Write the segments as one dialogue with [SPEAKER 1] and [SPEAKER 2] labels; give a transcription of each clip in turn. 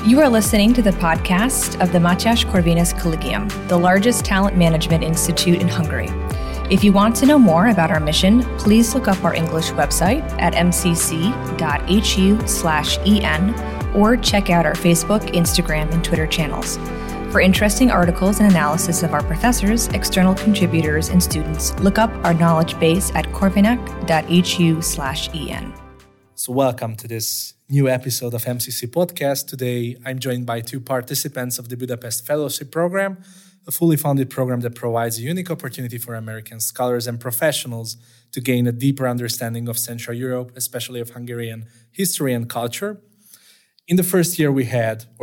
[SPEAKER 1] You are listening to the podcast of the Mátyás Corvinus Collegium, the largest talent management institute in Hungary. If you want to know more about our mission, please look up our English website at mcc.hu/en or check out our Facebook, Instagram, and Twitter channels. For interesting articles and analysis of our professors, external contributors, and students, look up our knowledge base at corvinec.hu/en.
[SPEAKER 2] So welcome to this new episode of MCC Podcast. Today, I'm joined by two participants of the Budapest Fellowship Program, a fully funded program that provides a unique opportunity for American scholars and professionals to gain a deeper understanding of Central Europe, especially of Hungarian history and culture. In the first year we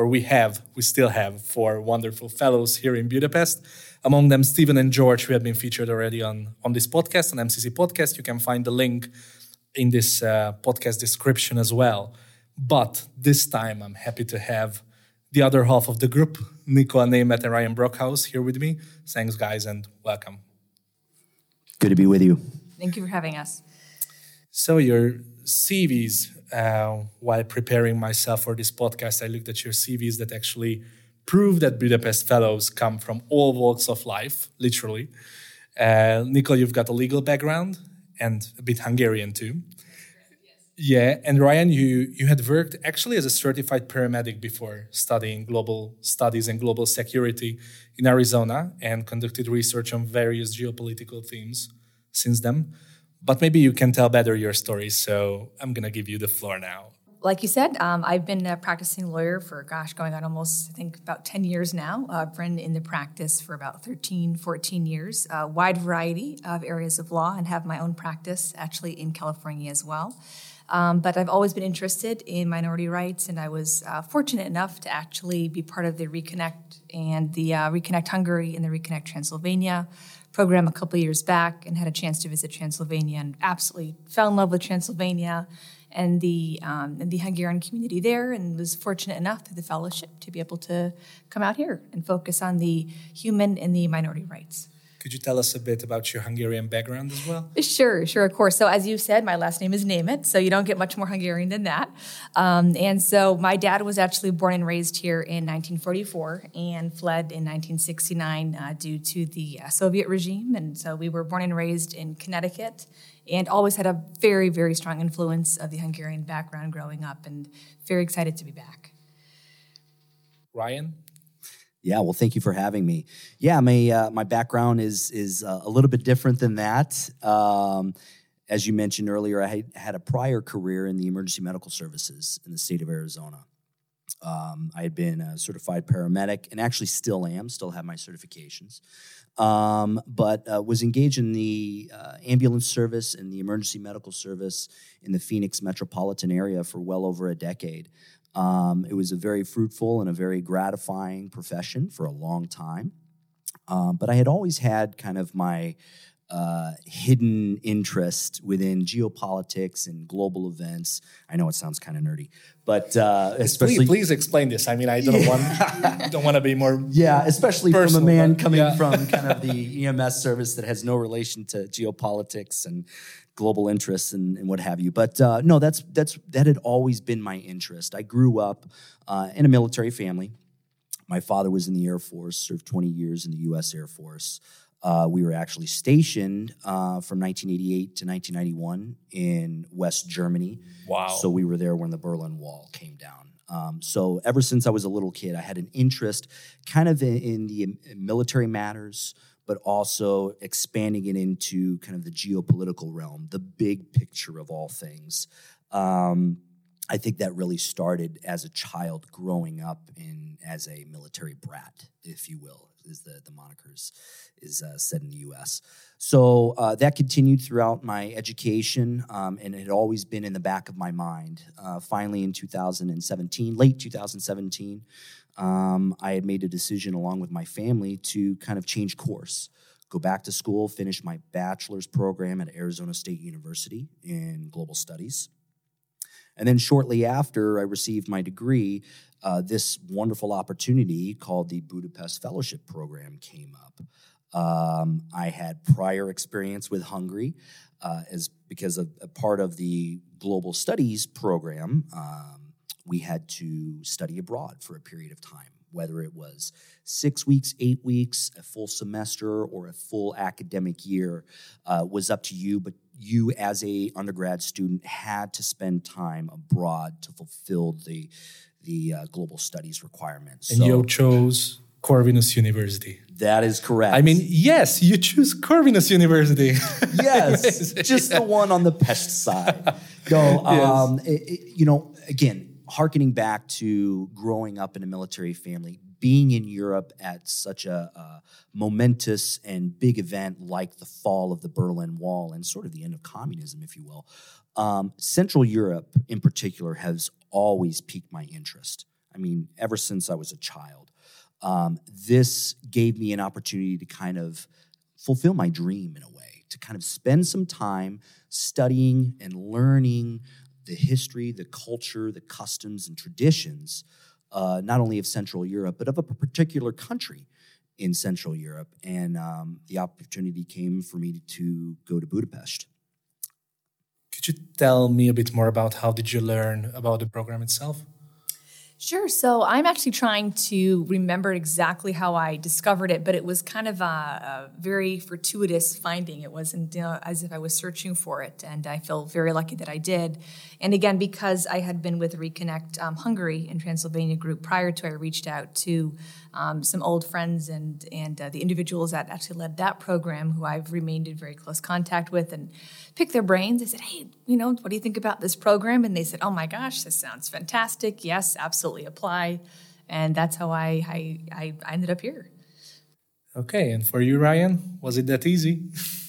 [SPEAKER 2] still have four wonderful fellows here in Budapest. Among them, Stephen and George, who have been featured already on this podcast, on MCC Podcast. You can find the link in this podcast description as well. But this time I'm happy to have the other half of the group, Nico Németh and Ryan Brockhaus, here with me. Thanks, guys, and welcome.
[SPEAKER 3] Good to be with you.
[SPEAKER 1] Thank you for having us.
[SPEAKER 2] So your CVs, while preparing myself for this podcast, I looked at your CVs that actually prove that Budapest Fellows come from all walks of life, literally. Nico, you've got a legal background and a bit Hungarian too. Yeah, and Ryan, you had worked actually as a certified paramedic before studying global studies and global security in Arizona and conducted research on various geopolitical themes since then. But maybe you can tell better your story, so I'm going to give you the floor now.
[SPEAKER 1] Like you said, I've been a practicing lawyer for, going on almost, I think, about 10 years now. I've been in the practice for about 13, 14 years, a wide variety of areas of law, and have my own practice actually in California as well. But I've always been interested in minority rights, and I was fortunate enough to actually be part of the Reconnect and the Reconnect Hungary and the Reconnect Transylvania program a couple of years back, and had a chance to visit Transylvania and absolutely fell in love with Transylvania and the Hungarian community there, and was fortunate enough through the fellowship to be able to come out here and focus on the human and the minority rights.
[SPEAKER 2] Could you tell us a bit about your Hungarian background as well?
[SPEAKER 1] Sure, of course. So as you said, my last name is Németh, so you don't get much more Hungarian than that. And so my dad was actually born and raised here in 1944 and fled in 1969 due to the Soviet regime. And so we were born and raised in Connecticut and always had a very, very strong influence of the Hungarian background growing up, and very excited to be back.
[SPEAKER 2] Ryan?
[SPEAKER 3] Yeah, well, thank you for having me. Yeah, my background is a little bit different than that. As you mentioned earlier, I had a prior career in the emergency medical services in the state of Arizona. I had been a certified paramedic, and actually still have my certifications. But was engaged in the ambulance service and the emergency medical service in the Phoenix metropolitan area for well over a decade. It was a very fruitful and a very gratifying profession for a long time. But I had always had kind of my hidden interest within geopolitics and global events. I know it sounds kind of nerdy, but especially...
[SPEAKER 2] Please explain this. I mean, I don't want to be more...
[SPEAKER 3] Yeah, especially
[SPEAKER 2] personal,
[SPEAKER 3] from a man coming from kind of the EMS service that has no relation to geopolitics and global interests and what have you. But no, that had always been my interest. I grew up in a military family. My father was in the Air Force, served 20 years in the U.S. Air Force. We were actually stationed from 1988 to 1991 in West Germany.
[SPEAKER 2] Wow.
[SPEAKER 3] So we were there when the Berlin Wall came down. So ever since I was a little kid, I had an interest kind of in the military matters, but also expanding it into kind of the geopolitical realm, the big picture of all things. I think that really started as a child growing up as a military brat, if you will, is the monikers is said in the U.S. So that continued throughout my education, and it had always been in the back of my mind. Finally, in late 2017, I had made a decision along with my family to kind of change course, go back to school, finish my bachelor's program at Arizona State University in global studies. And then shortly after I received my degree, this wonderful opportunity called the Budapest Fellowship Program came up. I had prior experience with Hungary because of a part of the global studies program. we had to study abroad for a period of time, whether it was 6 weeks, 8 weeks, a full semester, or a full academic year was up to you. But you, as a undergrad student, had to spend time abroad to fulfill the global studies requirements.
[SPEAKER 2] And you chose Corvinus University.
[SPEAKER 3] That is correct.
[SPEAKER 2] I mean, yes, you choose Corvinus University.
[SPEAKER 3] Yes, just the one on the Pest side. No, again, hearkening back to growing up in a military family, being in Europe at such a momentous and big event like the fall of the Berlin Wall and sort of the end of communism, if you will, Central Europe in particular has always piqued my interest. I mean, ever since I was a child. This gave me an opportunity to kind of fulfill my dream in a way, to kind of spend some time studying and learning the history, the culture, the customs, and traditions, not only of Central Europe, but of a particular country in Central Europe. And the opportunity came for me to go to Budapest.
[SPEAKER 2] Could you tell me a bit more about how did you learn about the program itself?
[SPEAKER 1] Sure. So I'm actually trying to remember exactly how I discovered it, but it was kind of a very fortuitous finding. It wasn't as if I was searching for it, and I feel very lucky that I did. And again, because I had been with Reconnect Hungary and Transylvania group prior to, I reached out to some old friends and the individuals that actually led that program, who I've remained in very close contact with, and picked their brains. I said, hey, what do you think about this program? And they said, oh my gosh, this sounds fantastic. Yes, absolutely apply. And that's how I ended up here.
[SPEAKER 2] Okay, and for you, Ryan, was it that easy?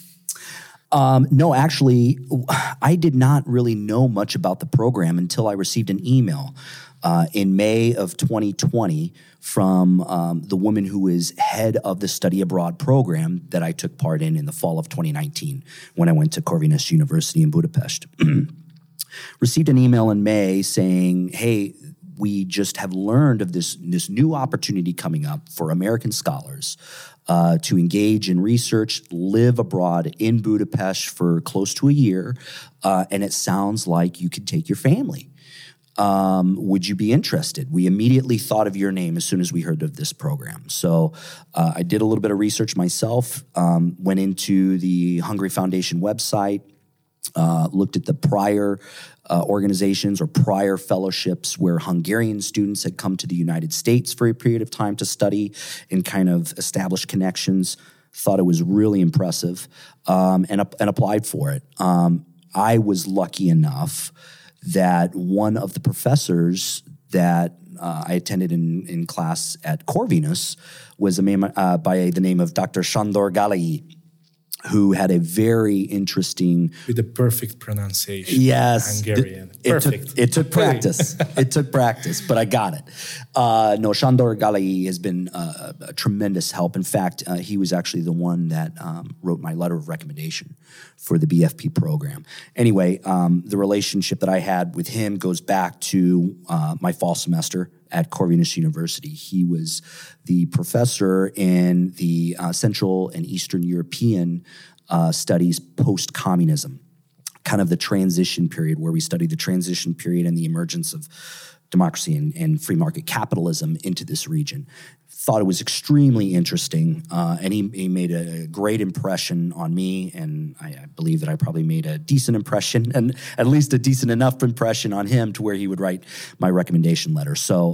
[SPEAKER 3] No, actually, I did not really know much about the program until I received an email in May of 2020 from the woman who is head of the study abroad program that I took part in the fall of 2019 when I went to Corvinus University in Budapest. Received an email in May saying, hey, we just have learned of this new opportunity coming up for American scholars to engage in research, live abroad in Budapest for close to a year, and it sounds like you could take your family. Would you be interested? We immediately thought of your name as soon as we heard of this program. So I did a little bit of research myself, went into the Hungary Foundation website, looked at the prior organizations or prior fellowships where Hungarian students had come to the United States for a period of time to study and kind of establish connections. Thought it was really impressive and applied for it. I was lucky enough that one of the professors that I attended in class at Corvinus was a man by the name of Dr. Sándor Gálai, who had a very interesting...
[SPEAKER 2] With the perfect pronunciation.
[SPEAKER 3] Yes.
[SPEAKER 2] Hungarian. Perfect.
[SPEAKER 3] It took practice. It took practice, but I got it. No, Sándor Gálai has been a tremendous help. In fact, he was actually the one that wrote my letter of recommendation for the BFP program. Anyway, the relationship that I had with him goes back to my fall semester at Corvinus University. He was the professor in the Central and Eastern European studies post-communism, kind of the transition period where we studied the transition period and the emergence of democracy and free market capitalism into this region. Thought it was extremely interesting, and he made a great impression on me, and I believe that I probably made a decent impression, and at least a decent enough impression on him to where he would write my recommendation letter. So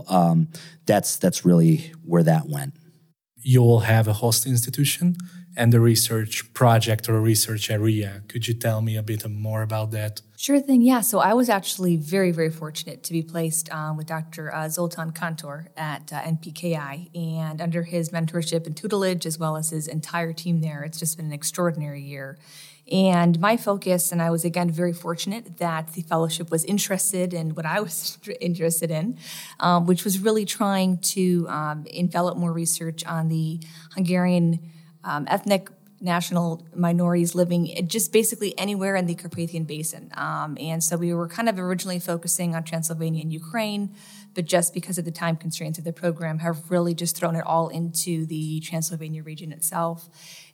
[SPEAKER 3] that's really where that went.
[SPEAKER 2] You'll have a host institution and a research project or a research area. Could you tell me a bit more about that?
[SPEAKER 1] Sure thing, yeah. So I was actually very, very fortunate to be placed with Dr. Zoltan Kantor at NPKI, and under his mentorship and tutelage, as well as his entire team there, it's just been an extraordinary year. And my focus, and I was again very fortunate that the fellowship was interested in what I was interested in, which was really trying to envelop more research on the Hungarian ethnic national minorities living just basically anywhere in the Carpathian Basin. And so we were kind of originally focusing on Transylvania and Ukraine, but just because of the time constraints of the program have really just thrown it all into the Transylvania region itself.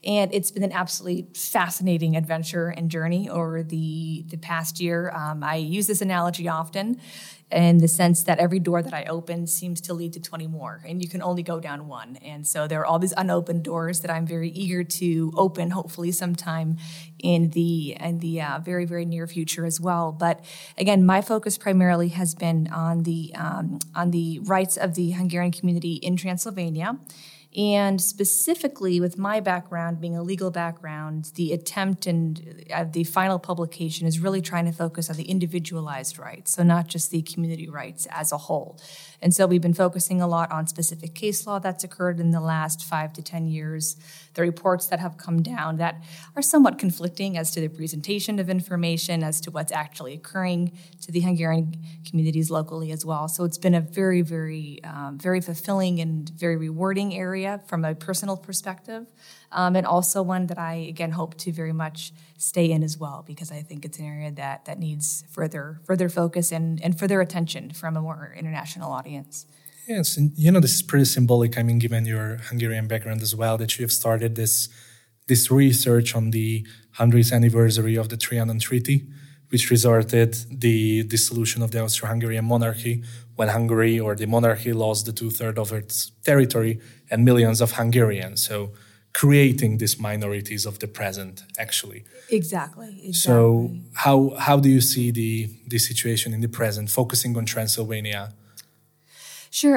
[SPEAKER 1] And it's been an absolutely fascinating adventure and journey over the past year. I use this analogy often in the sense that every door that I open seems to lead to 20 more, and you can only go down one. And so there are all these unopened doors that I'm very eager to open, hopefully sometime in the very, very near future as well. But again, my focus primarily has been on the rights of the Hungarian community in Transylvania. And specifically with my background, being a legal background, the attempt and the final publication is really trying to focus on the individualized rights, so not just the community rights as a whole. And so we've been focusing a lot on specific case law that's occurred in the last 5 to 10 years, the reports that have come down that are somewhat conflicting as to the presentation of information, as to what's actually occurring to the Hungarian communities locally as well. So it's been a very, very, very fulfilling and very rewarding area from a personal perspective, and also one that I, again, hope to very much stay in as well, because I think it's an area that needs further focus and further attention from a more international audience.
[SPEAKER 2] Yes, and this is pretty symbolic, given your Hungarian background as well, that you have started this research on the 100th anniversary of the Trianon Treaty, which resulted the dissolution of the Austro-Hungarian monarchy when Hungary, or the monarchy, lost the 2/3 of its territory and millions of Hungarians. So creating these minorities of the present, actually.
[SPEAKER 1] Exactly.
[SPEAKER 2] So how do you see the situation in the present, focusing on Transylvania?
[SPEAKER 1] Sure.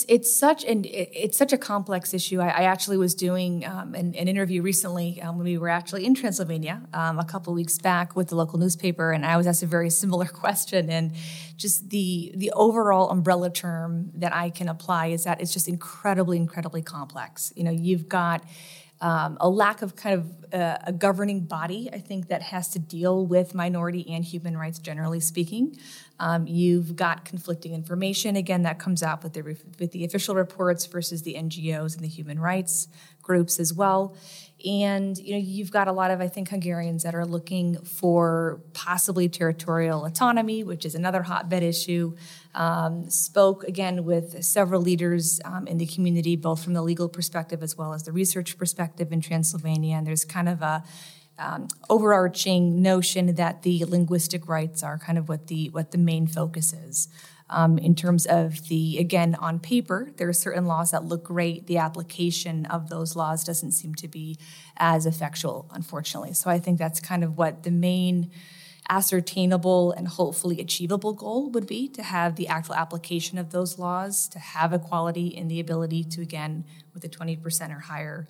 [SPEAKER 1] It's such a complex issue. I actually was doing an interview recently when we were actually in Transylvania a couple of weeks back with the local newspaper, and I was asked a very similar question. And just the overall umbrella term that I can apply is that it's just incredibly, incredibly complex. You've got a lack of kind of a governing body, I think, that has to deal with minority and human rights, generally speaking. You've got conflicting information, again, that comes out with the official reports versus the NGOs and the human rights groups as well. And you've got a lot of, I think, Hungarians that are looking for possibly territorial autonomy, which is another hotbed issue. Spoke again with several leaders in the community, both from the legal perspective as well as the research perspective in Transylvania. And there's kind of a overarching notion that the linguistic rights are kind of what the main focus is. In terms of again, on paper, there are certain laws that look great. The application of those laws doesn't seem to be as effectual, unfortunately. So I think that's kind of what the main ascertainable and hopefully achievable goal would be, to have the actual application of those laws, to have equality in the ability to, again, with the 20% or higher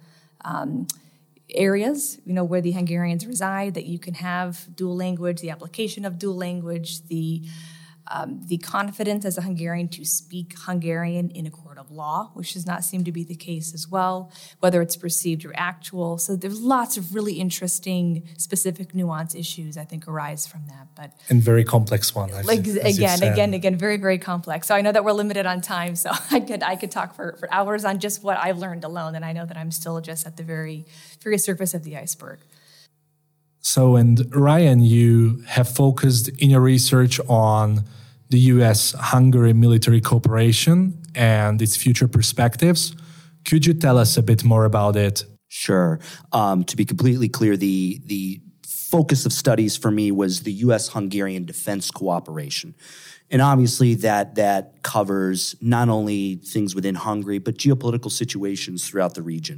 [SPEAKER 1] areas, where the Hungarians reside, that you can have dual language, the application of dual language, the confidence as a Hungarian to speak Hungarian in a court of law, which does not seem to be the case as well, whether it's perceived or actual. So there's lots of really interesting, specific nuance issues, I think, arise from that.
[SPEAKER 2] And very complex one.
[SPEAKER 1] Again, very, very complex. So I know that we're limited on time, so I could talk for hours on just what I've learned alone, and I know that I'm still just at the very, very surface of the iceberg.
[SPEAKER 2] So, and Ryan, you have focused in your research on the U.S.-Hungary military cooperation and its future perspectives. Could you tell us a bit more about it?
[SPEAKER 3] Sure. To be completely clear, the focus of studies for me was the U.S.-Hungarian defense cooperation. And obviously that covers not only things within Hungary, but geopolitical situations throughout the region.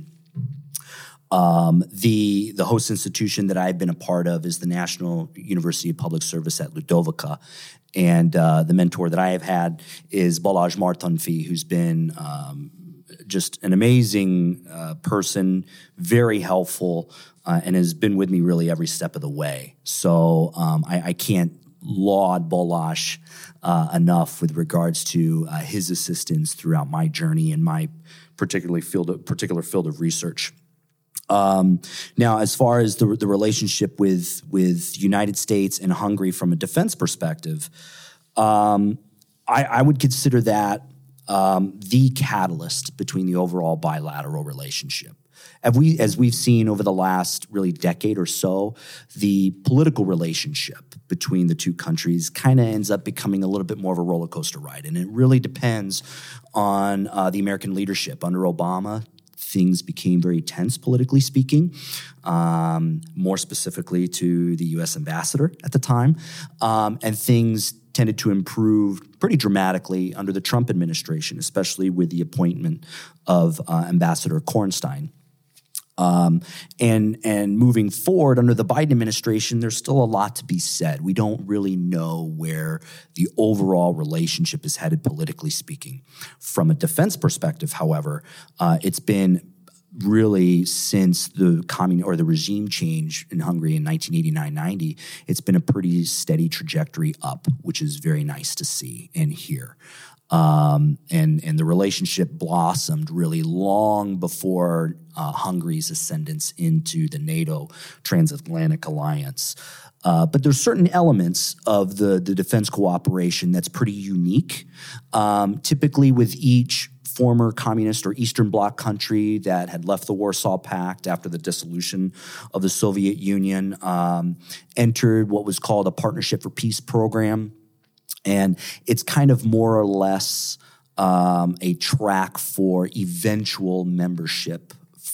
[SPEAKER 3] The host institution that I've been a part of is the National University of Public Service at Ludovica. And the mentor that I have had is Balázs Martonfi, who's been just an amazing person, very helpful, and has been with me really every step of the way. So I can't laud Balázs enough with regards to his assistance throughout my journey and my particular field of research. Now, as far as the relationship with United States and Hungary from a defense perspective, I would consider that the catalyst between the overall bilateral relationship. As we've seen over the last really decade or so, the political relationship between the two countries kind of ends up becoming a little bit more of a roller coaster ride. And it really depends on the American leadership. Under Obama, things became very tense, politically speaking, more specifically to the U.S. ambassador at the time, and things tended to improve pretty dramatically under the Trump administration, especially with the appointment of Ambassador Kornstein. And moving forward under the Biden administration, there's still a lot to be said. We don't really know where the overall relationship is headed politically speaking. From a defense perspective, however, it's been really since the regime change in Hungary in 1989-90, it's been a pretty steady trajectory up, which is very nice to see and hear. And the relationship blossomed really long before Hungary's ascendance into the NATO transatlantic alliance. But there's certain elements of the defense cooperation that's pretty unique. Typically with each former communist or Eastern Bloc country that had left the Warsaw Pact after the dissolution of the Soviet Union, entered what was called a Partnership for Peace program. And it's kind of more or less a track for eventual membership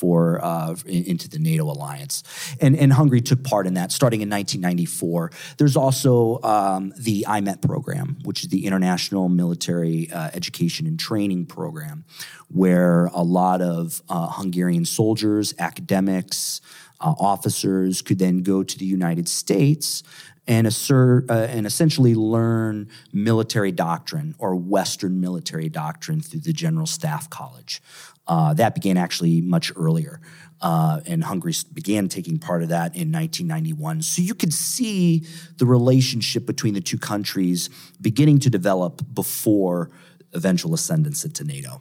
[SPEAKER 3] into the NATO alliance. And Hungary took part in that starting in 1994. There's also the IMET program, which is the International Military Education and Training Program, where a lot of Hungarian soldiers, academics, officers could then go to the United States and essentially learn military doctrine or Western military doctrine through the General Staff College. That began actually much earlier, and Hungary began taking part of that in 1991. So you could see the relationship between the two countries beginning to develop before eventual ascendance into NATO.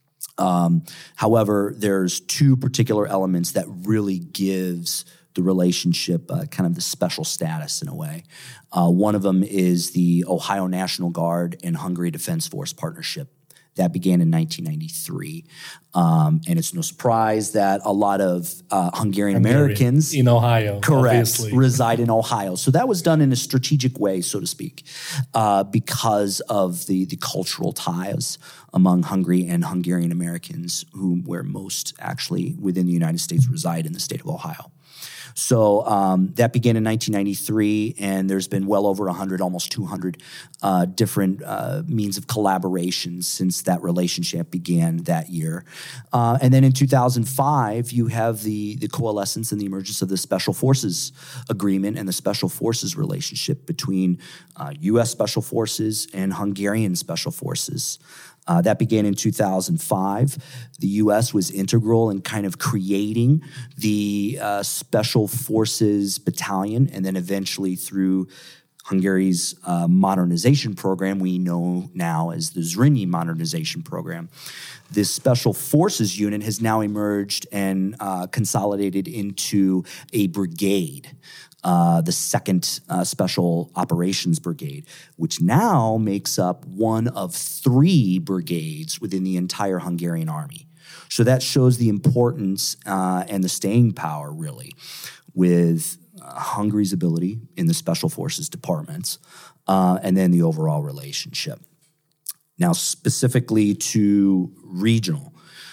[SPEAKER 3] However, there's two particular elements that really gives the relationship kind of the special status in a way. One of them is the Ohio National Guard and Hungary Defense Force partnership. That began in 1993. And it's no surprise that a lot of Hungarian Americans
[SPEAKER 2] in Ohio, obviously,
[SPEAKER 3] reside in Ohio. So that was done in a strategic way, so to speak, because of the cultural ties among Hungary and Hungarian Americans, where most actually within the United States reside in the state of Ohio. So that began in 1993, and there's been well over 100, almost 200 different means of collaboration since that relationship began that year. And then in 2005, you have the coalescence and the emergence of the Special Forces Agreement and the Special Forces relationship between U.S. Special Forces and Hungarian Special Forces. That began in 2005. The U.S. was integral in kind of creating the Special Forces Battalion, and then eventually through Hungary's modernization program, we know now as the Zrínyi modernization program. This Special Forces unit has now emerged and consolidated into a brigade. The 2nd Special Operations Brigade, which now makes up one of 3 brigades within the entire Hungarian army. So that shows the importance and the staying power, really, with Hungary's ability in the Special Forces departments, and then the overall relationship. Now, specifically to regional,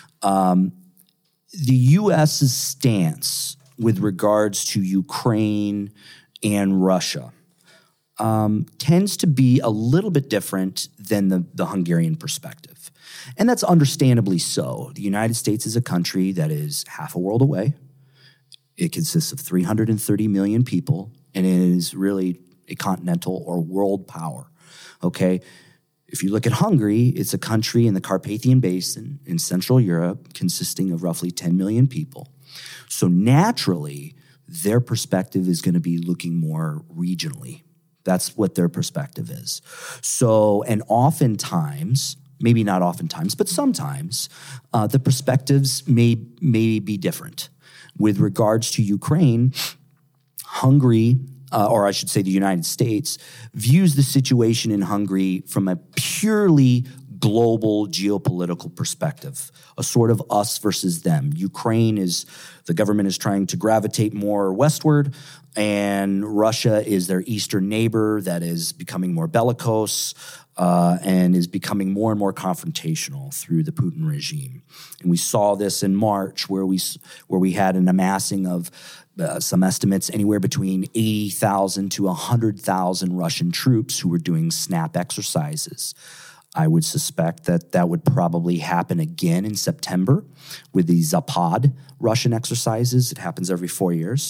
[SPEAKER 3] the U.S.'s stance with regards to Ukraine and Russia tends to be a little bit different than the Hungarian perspective. And that's understandably so. The United States is a country that is half a world away. It consists of 330 million people, and it is really a continental or world power, okay? If you look at Hungary, it's a country in the Carpathian Basin in Central Europe consisting of roughly 10 million people. So naturally, their perspective is going to be looking more regionally. That's what their perspective is. So, and oftentimes, maybe not oftentimes, but sometimes, the perspectives may be different. With regards to Ukraine, Hungary, or I should say the United States, views the situation in Hungary from a purely global geopolitical perspective, a sort of us versus them. The government is trying to gravitate more westward, and Russia is their eastern neighbor that is becoming more bellicose and is becoming more and more confrontational through the Putin regime. And we saw this in March, where we had an amassing of some estimates anywhere between 80,000 to 100,000 Russian troops who were doing snap exercises. I would suspect that would probably happen again in September with the Zapad Russian exercises. It happens every 4 years.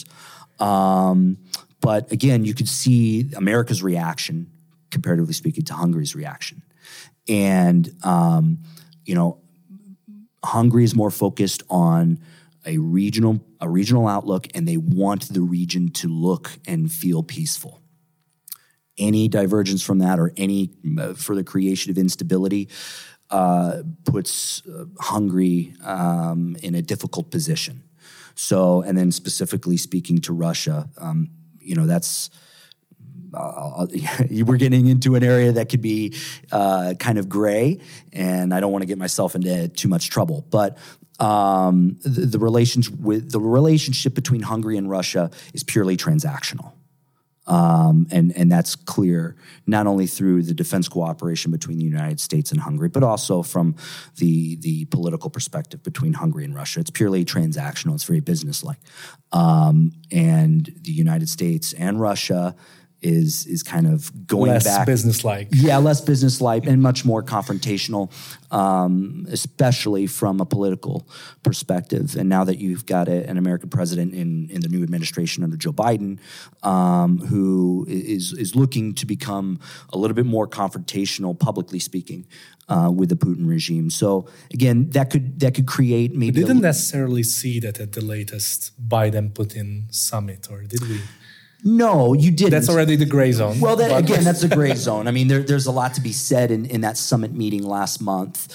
[SPEAKER 3] But again, you could see America's reaction, comparatively speaking, to Hungary's reaction. And, Hungary is more focused on a regional outlook, and they want the region to look and feel peaceful. Any divergence from that or any further creation of instability puts Hungary in a difficult position. So, and then specifically speaking to Russia, that's we're getting into an area that could be kind of gray, and I don't want to get myself into too much trouble. But the relationship between Hungary and Russia is purely transactional. And that's clear not only through the defense cooperation between the United States and Hungary, but also from the political perspective between Hungary and Russia. It's purely transactional. It's very businesslike. And the United States and Russia is kind of going
[SPEAKER 2] less
[SPEAKER 3] back.
[SPEAKER 2] Less businesslike.
[SPEAKER 3] Yeah, less businesslike and much more confrontational, especially from a political perspective. And now that you've got an American president in the new administration under Joe Biden, who is looking to become a little bit more confrontational, publicly speaking, with the Putin regime. So again, that could create maybe.
[SPEAKER 2] We didn't necessarily see that at the latest Biden-Putin summit, or did we?
[SPEAKER 3] No, you didn't.
[SPEAKER 2] That's already the gray zone.
[SPEAKER 3] Well, that's a gray zone. I mean, there's a lot to be said in that summit meeting last month.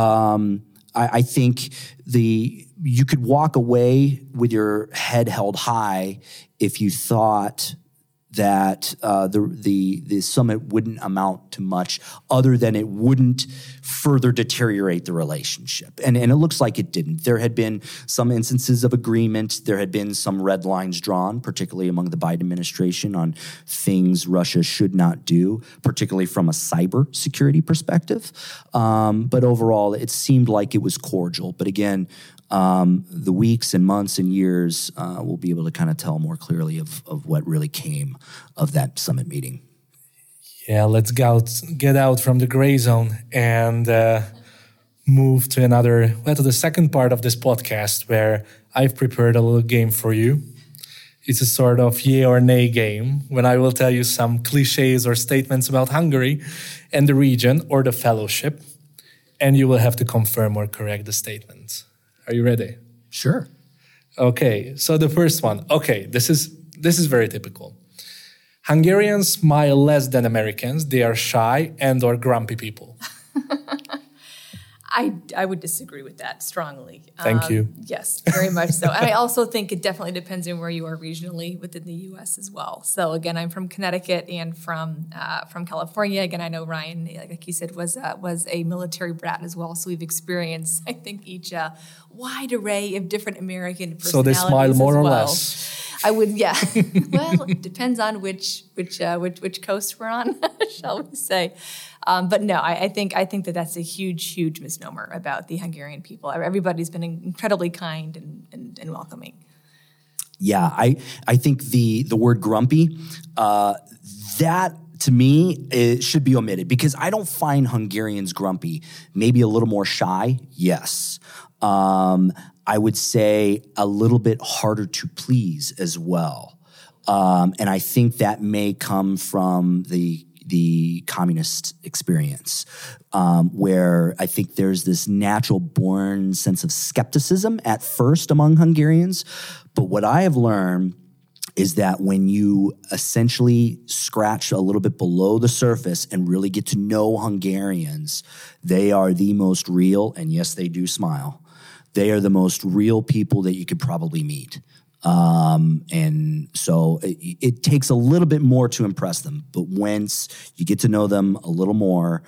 [SPEAKER 3] I think you could walk away with your head held high if you thought that the summit wouldn't amount to much other than it wouldn't further deteriorate the relationship. And it looks like it didn't. There had been some instances of agreement. There had been some red lines drawn, particularly among the Biden administration, on things Russia should not do, particularly from a cyber security perspective. But overall, it seemed like it was cordial. But again, the weeks and months and years will be able to kind of tell more clearly of what really came of that summit meeting.
[SPEAKER 2] Yeah, let's get out from the gray zone and move to the second part of this podcast, where I've prepared a little game for you. It's a sort of yay or nay game, when I will tell you some cliches or statements about Hungary and the region or the fellowship, and you will have to confirm or correct the statements. Are you ready?
[SPEAKER 3] Sure.
[SPEAKER 2] Okay, so the first one. Okay, this is very typical. Hungarians smile less than Americans. They are shy and or grumpy people.
[SPEAKER 1] I would disagree with that strongly.
[SPEAKER 2] Thank you.
[SPEAKER 1] Yes, very much so. And I also think it definitely depends on where you are regionally within the U.S. as well. So again, I'm from Connecticut and from California. Again, I know Ryan, like he said, was a military brat as well. So we've experienced, I think, each wide array of different American personalities.
[SPEAKER 2] So they smile more or less.
[SPEAKER 1] I would, yeah. Well, it depends on which coast we're on, shall we say? But no, I think that that's a huge misnomer about the Hungarian people. Everybody's been incredibly kind and welcoming.
[SPEAKER 3] Yeah, I think the word grumpy, that to me, it should be omitted, because I don't find Hungarians grumpy. Maybe a little more shy, yes. I would say a little bit harder to please as well. And I think that may come from the communist experience, where I think there's this natural born sense of skepticism at first among Hungarians. But what I have learned is that when you essentially scratch a little bit below the surface and really get to know Hungarians, they are the most real, and yes, they do smile. They are the most real people that you could probably meet. And so it takes a little bit more to impress them. But once you get to know them a little more,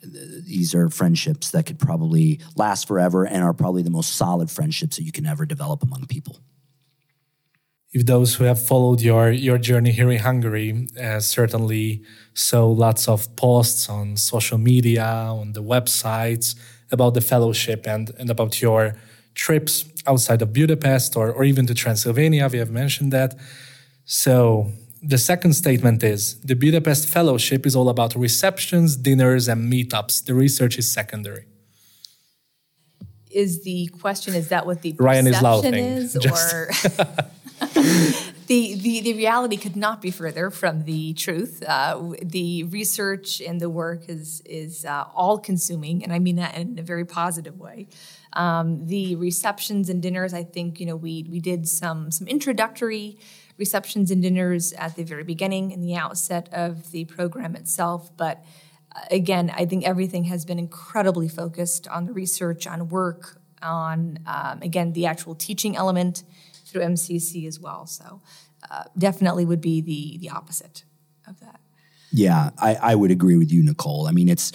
[SPEAKER 3] these are friendships that could probably last forever and are probably the most solid friendships that you can ever develop among people.
[SPEAKER 2] If those who have followed your journey here in Hungary certainly saw lots of posts on social media, on the websites about the fellowship and about your trips outside of Budapest or even to Transylvania, we have mentioned that. So the second statement is, the Budapest Fellowship is all about receptions, dinners, and meetups. The research is secondary.
[SPEAKER 1] Is the question, is that what the
[SPEAKER 2] Ryan
[SPEAKER 1] perception
[SPEAKER 2] is,
[SPEAKER 1] or the reality could not be further from the truth. The research and the work is all consuming, and I mean that in a very positive way. The receptions and dinners, I think, we did some introductory receptions and dinners at the very beginning in the outset of the program itself. But again, I think everything has been incredibly focused on the research, on work, on, again, the actual teaching element through MCC as well. So definitely would be the opposite of that.
[SPEAKER 3] Yeah, I would agree with you, Nicole. I mean, it's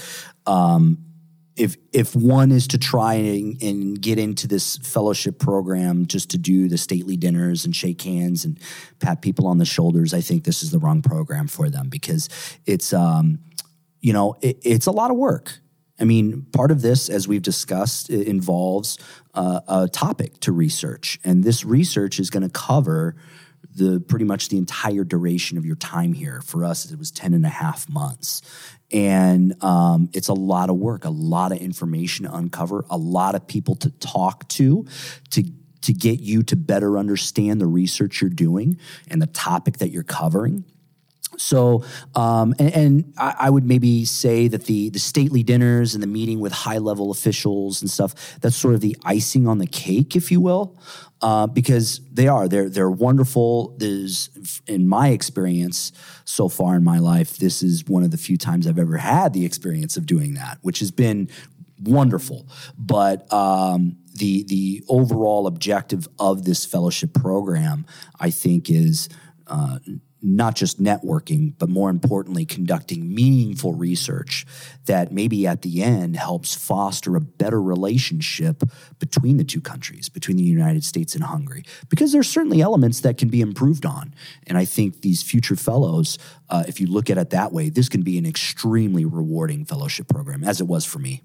[SPEAKER 3] if one is to try and get into this fellowship program just to do the stately dinners and shake hands and pat people on the shoulders, I think this is the wrong program for them, because it's it's a lot of work. I mean, part of this, as we've discussed, involves a topic to research, and this research is going to cover pretty much the entire duration of your time here. For us, it was 10.5 months. And it's a lot of work, a lot of information to uncover, a lot of people to talk to get you to better understand the research you're doing and the topic that you're covering. So, and I would maybe say that the stately dinners and the meeting with high-level officials and stuff, that's sort of the icing on the cake, if you will, because they're wonderful. In my experience so far in my life, this is one of the few times I've ever had the experience of doing that, which has been wonderful. But the overall objective of this fellowship program, I think, is not just networking, but more importantly, conducting meaningful research that maybe at the end helps foster a better relationship between the two countries, between the United States and Hungary, because there's certainly elements that can be improved on. And I think these future fellows, if you look at it that way, this can be an extremely rewarding fellowship program, as it was for me.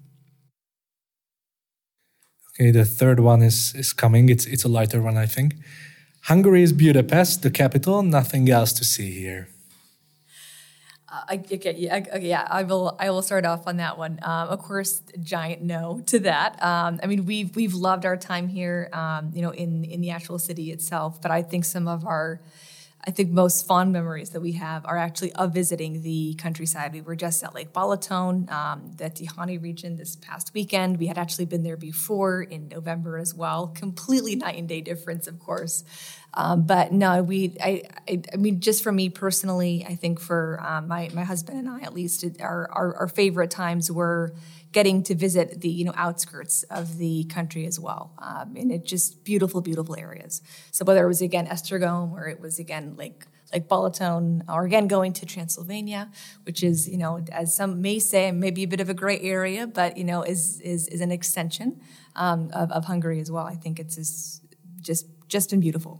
[SPEAKER 2] Okay, the third one is coming. It's a lighter one, I think. Hungary is Budapest, the capital, nothing else to see here.
[SPEAKER 1] I will start off on that one. Of course, a giant no to that. I mean, we've loved our time here, in the actual city itself. But I think some of our, most fond memories that we have are actually of visiting the countryside. We were just at Lake Balaton, the Tihany region this past weekend. We had actually been there before in November as well. Completely night and day difference, of course. But no, I mean, just for me personally, I think for my husband and I, at least, our favorite times were getting to visit the outskirts of the country as well, and it just beautiful areas. So whether it was again Esztergom or it was again like Balaton, or again going to Transylvania, which is as some may say maybe a bit of a gray area, but is an extension of Hungary as well. I think it's just been beautiful.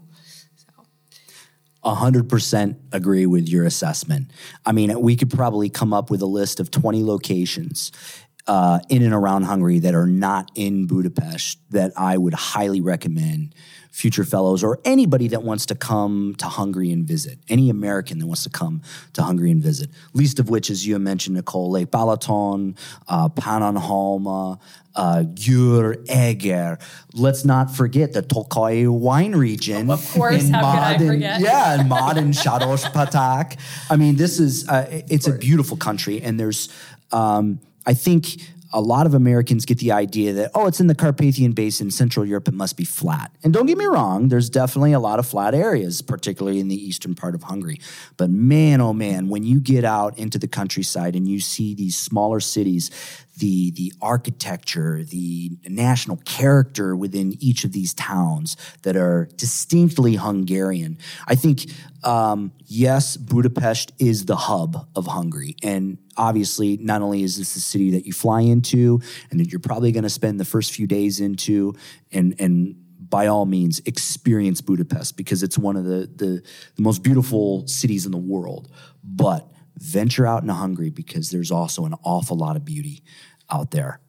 [SPEAKER 3] 100% agree with your assessment. I mean, we could probably come up with a list of 20 locations in and around Hungary that are not in Budapest that I would highly recommend future fellows or anybody that wants to come to Hungary and visit, any American that wants to come to Hungary and visit. Least of which, as you mentioned, Nicole, Lake Balaton, Pannonhalma, Győr, Eger. Let's not forget the Tokaj wine region.
[SPEAKER 1] Of course, how could I forget?
[SPEAKER 3] Yeah, and Mad and Sáros-Patak. I mean, this is, it's a beautiful country, and there's, I think a lot of Americans get the idea that, it's in the Carpathian Basin, Central Europe, it must be flat. And don't get me wrong, there's definitely a lot of flat areas, particularly in the eastern part of Hungary. But man, oh man, when you get out into the countryside and you see these smaller cities the architecture, the national character within each of these towns that are distinctly Hungarian. I think, yes, Budapest is the hub of Hungary. And obviously, not only is this the city that you fly into and that you're probably going to spend the first few days into, and by all means, experience Budapest because it's one of the most beautiful cities in the world. But venture out into Hungary because there's also an awful lot of beauty out there.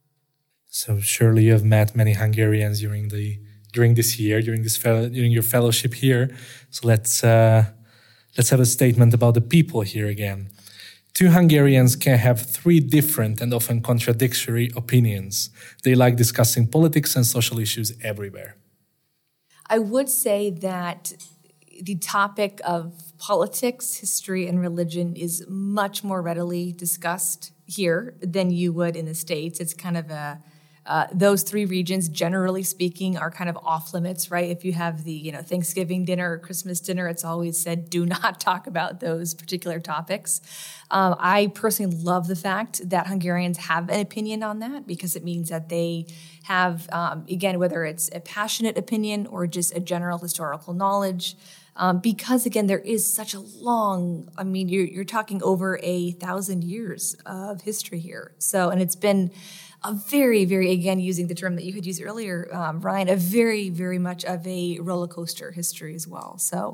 [SPEAKER 2] So surely you have met many Hungarians during this year, during your fellowship here. So let's have a statement about the people here again. Two Hungarians can have three different and often contradictory opinions. They like discussing politics and social issues everywhere.
[SPEAKER 1] I would say that the topic of politics, history, and religion is much more readily discussed here than you would in the States. It's kind of those three regions, generally speaking, are kind of off limits, right? If you have the Thanksgiving dinner or Christmas dinner, it's always said, do not talk about those particular topics. I personally love the fact that Hungarians have an opinion on that because it means that they have, again, whether it's a passionate opinion or just a general historical knowledge, because, again, there is such a long, you're talking over 1,000 years of history here. So, and it's been a very, very, again, using the term that you had used earlier, Ryan, a very, very much of a roller coaster history as well. So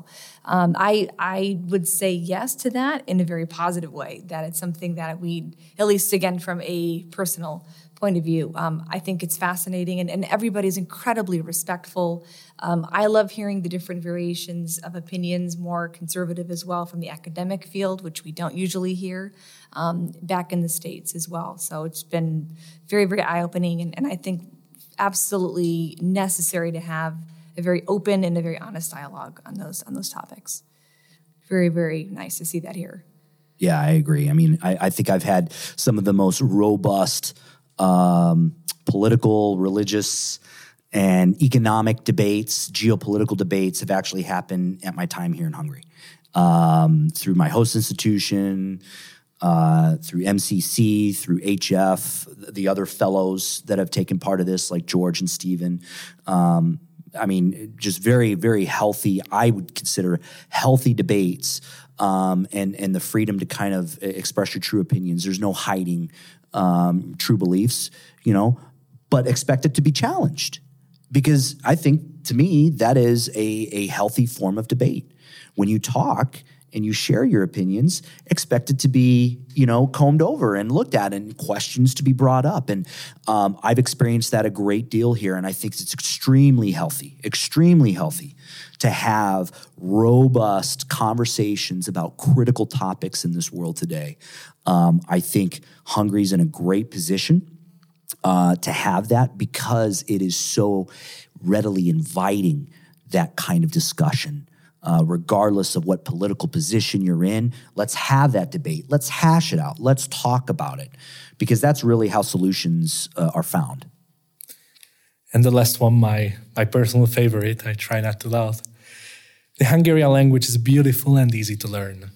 [SPEAKER 1] I would say yes to that in a very positive way, that it's something that we, at least, again, from a personal point of view, I think it's fascinating, and everybody's incredibly respectful. I love hearing the different variations of opinions, more conservative as well from the academic field, which we don't usually hear back in the States as well. So it's been very, very eye-opening, and I think absolutely necessary to have a very open and a very honest dialogue on those topics. Very, very nice to see that here.
[SPEAKER 3] Yeah, I agree. I think I've had some of the most robust political, religious, and economic debates, geopolitical debates have actually happened at my time here in Hungary. Through my host institution, through MCC, through HF, the other fellows that have taken part of this, like George and Stephen. Just very, very healthy, I would consider healthy debates, and the freedom to kind of express your true opinions. There's no hiding true beliefs, but expect it to be challenged. Because I think, to me, that is a healthy form of debate. When you talk and you share your opinions, expect it to be, combed over and looked at and questions to be brought up. And I've experienced that a great deal here, and I think it's extremely healthy to have robust conversations about critical topics in this world today. I think Hungary's in a great position to have that because it is so readily inviting that kind of discussion. Regardless of what political position you're in, let's have that debate. Let's hash it out. Let's talk about it, because that's really how solutions are found.
[SPEAKER 2] And the last one, my personal favorite, I try not to laugh. The Hungarian language is beautiful and easy to learn.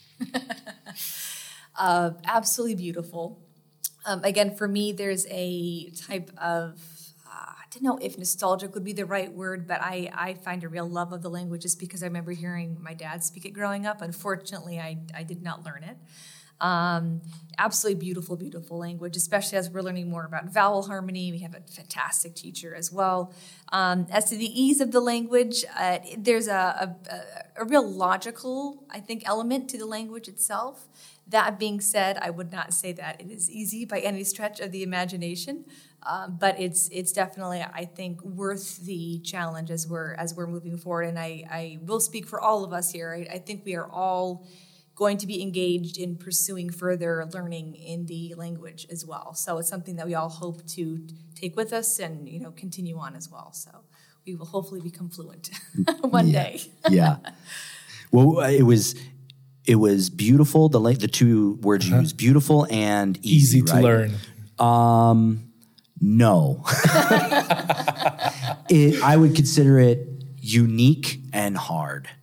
[SPEAKER 1] Absolutely beautiful. Again, for me, there's a type of, I don't know if nostalgic would be the right word, but I find a real love of the language just because I remember hearing my dad speak it growing up. Unfortunately, I did not learn it. Absolutely beautiful, beautiful language, especially as we're learning more about vowel harmony. We have a fantastic teacher as well. As to the ease of the language, there's a real logical, I think, element to the language itself. That being said, I would not say that it is easy by any stretch of the imagination, but it's definitely, I think, worth the challenge as we're moving forward. And I will speak for all of us here. I think we are all going to be engaged in pursuing further learning in the language as well. So it's something that we all hope to take with us and continue on as well. So we will hopefully become fluent one day.
[SPEAKER 3] Yeah. Well, it was beautiful. The two words you used, beautiful and easy
[SPEAKER 2] to
[SPEAKER 3] right?
[SPEAKER 2] learn.
[SPEAKER 3] No. I would consider it unique and hard.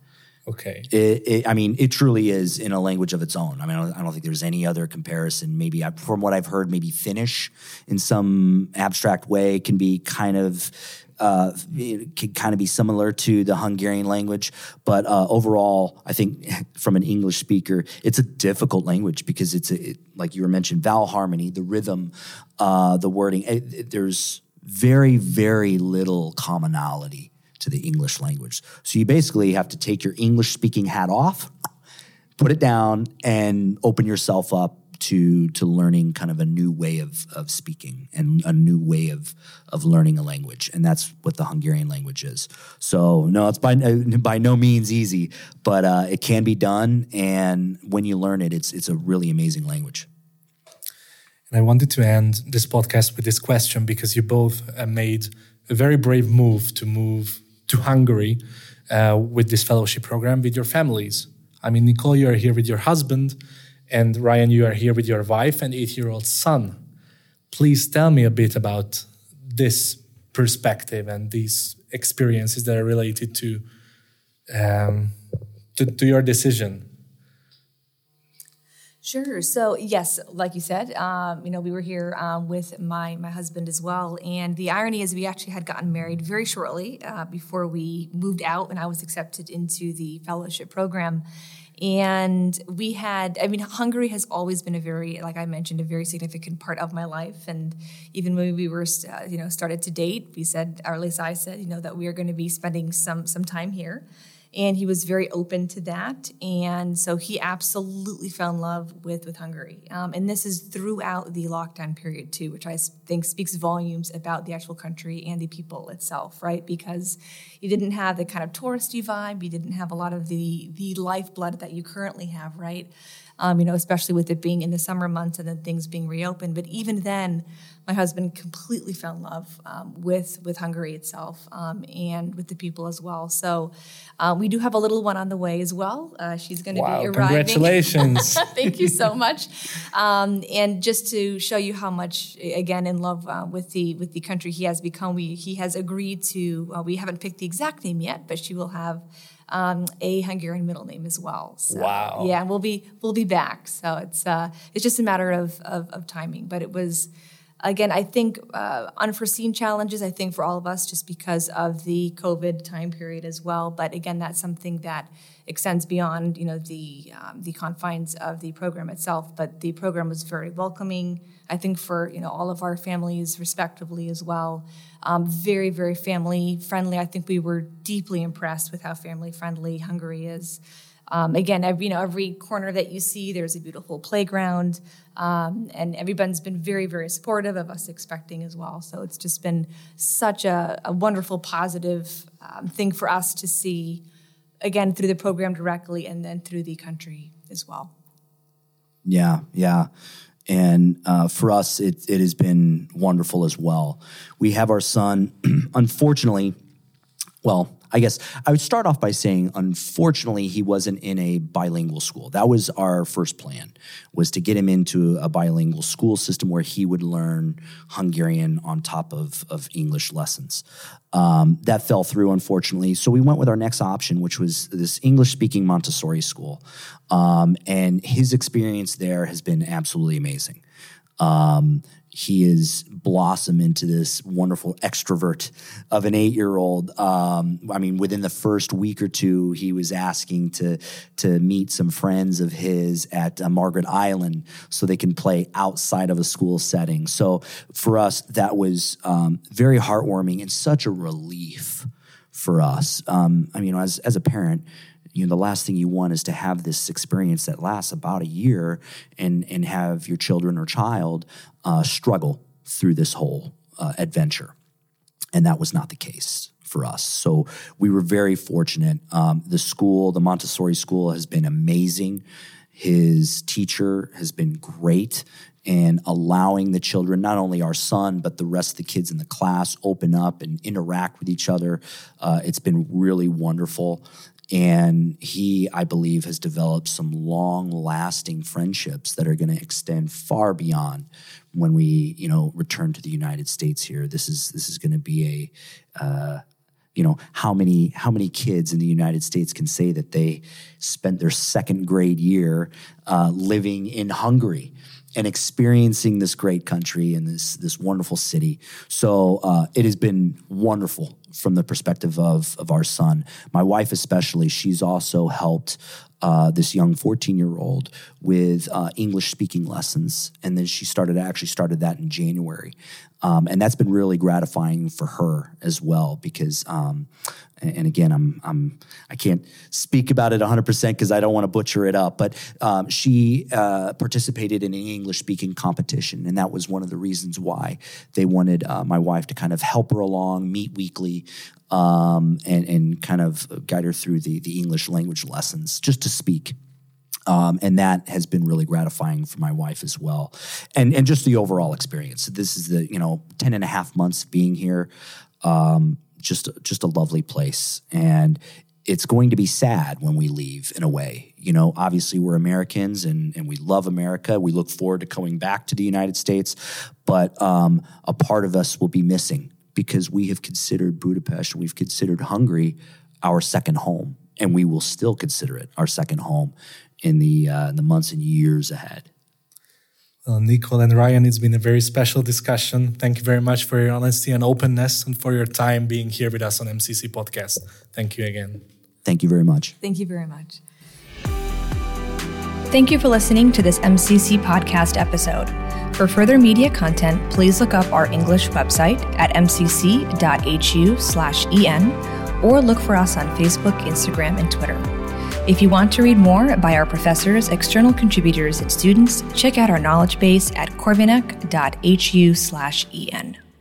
[SPEAKER 2] Okay.
[SPEAKER 3] It truly is in a language of its own. I mean, I don't think there's any other comparison. Maybe from what I've heard, maybe Finnish in some abstract way can be kind of it can kind of be similar to the Hungarian language. But overall, I think from an English speaker, it's a difficult language because like you were mentioned, vowel harmony, the rhythm, the wording. There's very, very little commonality to the English language. So you basically have to take your English-speaking hat off, put it down, and open yourself up to learning kind of a new way of speaking and a new way of learning a language. And that's what the Hungarian language is. So no, it's by no means easy, but it can be done. And when you learn it, it's a really amazing language.
[SPEAKER 2] And I wanted to end this podcast with this question because you both made a very brave move to Hungary with this fellowship program with your families. I mean, Nicole, you are here with your husband, and Ryan, you are here with your wife and 8-year-old son. Please tell me a bit about this perspective and these experiences that are related to your decision.
[SPEAKER 1] Sure. So yes, like you said, we were here with my husband as well. And the irony is we actually had gotten married very shortly before we moved out and I was accepted into the fellowship program. And Hungary has always been like I mentioned, a very significant part of my life. And even when we were, started to date, we said, or at least I said, that we are going to be spending some time here. And he was very open to that. And so he absolutely fell in love with Hungary. And this is throughout the lockdown period, too, which I think speaks volumes about the actual country and the people itself, right? Because you didn't have the kind of touristy vibe. You didn't have a lot of the lifeblood that you currently have, right? Especially with it being in the summer months and then things being reopened. But even then, my husband completely fell in love with Hungary itself and with the people as well. So we do have a little one on the way as well. She's going to be arriving.
[SPEAKER 2] Congratulations.
[SPEAKER 1] Thank you so much. And just to show you how much, again, in love with the country he has become, he has agreed to, we haven't picked the exact name yet, but she will have a Hungarian middle name as well. So,
[SPEAKER 2] wow.
[SPEAKER 1] Yeah, we'll be back. So it's just a matter of timing. But it was, again, I think unforeseen challenges, I think, for all of us just because of the COVID time period as well. But again, that's something that extends beyond, the confines of the program itself. But the program was very welcoming, I think, for, all of our families respectively as well. Very, very family friendly. I think we were deeply impressed with how family friendly Hungary is. Again, every corner that you see, there's a beautiful playground, and everyone's been very, very supportive of us expecting as well. So it's just been such a wonderful, positive thing for us to see, again, through the program directly and then through the country as well.
[SPEAKER 3] Yeah. And for us, it has been wonderful as well. We have our son, unfortunately, well, I guess I would start off by saying, unfortunately, he wasn't in a bilingual school. That was our first plan, was to get him into a bilingual school system where he would learn Hungarian on top of English lessons. That fell through, unfortunately. So we went with our next option, which was this English-speaking Montessori school. And his experience there has been absolutely amazing. He has blossomed into this wonderful extrovert of an 8-year-old. Within the first week or two, he was asking to meet some friends of his at Margaret Island so they can play outside of a school setting. So for us, that was very heartwarming and such a relief for us. As a parent, the last thing you want is to have this experience that lasts about a year and have your children or child struggle through this whole adventure. And that was not the case for us. So we were very fortunate. The Montessori school has been amazing. His teacher has been great, and allowing the children, not only our son, but the rest of the kids in the class, open up and interact with each other. It's been really wonderful. And he, I believe, has developed some long-lasting friendships that are going to extend far beyond when we, return to the United States here. This is going to be how many kids in the United States can say that they spent their second grade year living in Hungary and experiencing this great country and this wonderful city. So it has been wonderful from the perspective of our son. My wife especially, she's also helped this young 14-year-old with English-speaking lessons. And then she started that in January. And that's been really gratifying for her as well because, and again, I can't speak about it 100% because I don't want to butcher it up, but she participated in an English-speaking competition, and that was one of the reasons why they wanted my wife to kind of help her along, meet weekly, and kind of guide her through the English language lessons, just to speak. And that has been really gratifying for my wife as well. And just the overall experience. This is the, 10 and a half months of being here. Just a lovely place. And it's going to be sad when we leave in a way. Obviously we're Americans and we love America. We look forward to coming back to the United States. But a part of us will be missing because we have considered Budapest, we've considered Hungary our second home. And we will still consider it our second home in the months and years ahead.
[SPEAKER 2] Well, Nicole and Ryan, it's been a very special discussion. Thank you very much for your honesty and openness and for your time being here with us on MCC Podcast. Thank you again.
[SPEAKER 3] Thank you very much.
[SPEAKER 1] Thank you very much. Thank you for listening to this MCC Podcast episode. For further media content, please look up our English website at mcc.hu/en or look for us on Facebook, Instagram, and Twitter. If you want to read more by our professors, external contributors, and students, check out our knowledge base at corvinec.hu/en.